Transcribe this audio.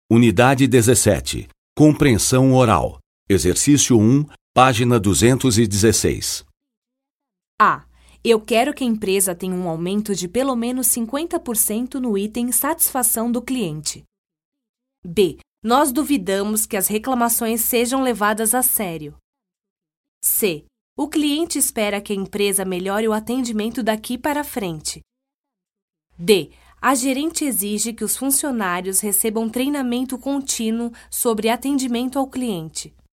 Unidade 17. Compreensão oral. Exercício 1, página 216. A. Eu quero que a empresa tenha um aumento de pelo menos 50% no item satisfação do cliente. B. Nós duvidamos que as reclamações sejam levadas a sério. C. O cliente espera que a empresa melhore o atendimento daqui para frente. D. A gerente exige que os funcionários recebam treinamento contínuo sobre atendimento ao cliente.